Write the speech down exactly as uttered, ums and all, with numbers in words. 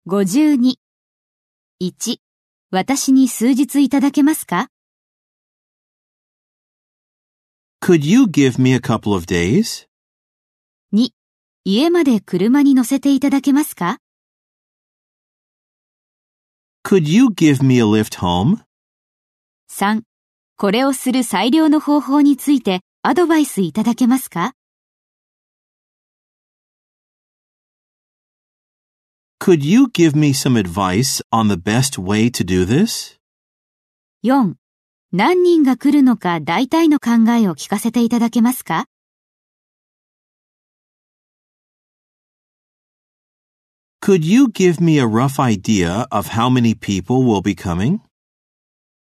ごじゅうに。いち、私に数日いただけますか？ Could you give me a couple of days? に、家まで車に乗せていただけますか？ Could you give me a lift home? さん、これをする最良の方法についてアドバイスいただけますか？ Could you give me some advice on the best way to do this? よん、何人が来るのか大体の考えを聞かせていただけますか？ Could you give me a rough idea of how many people will be coming?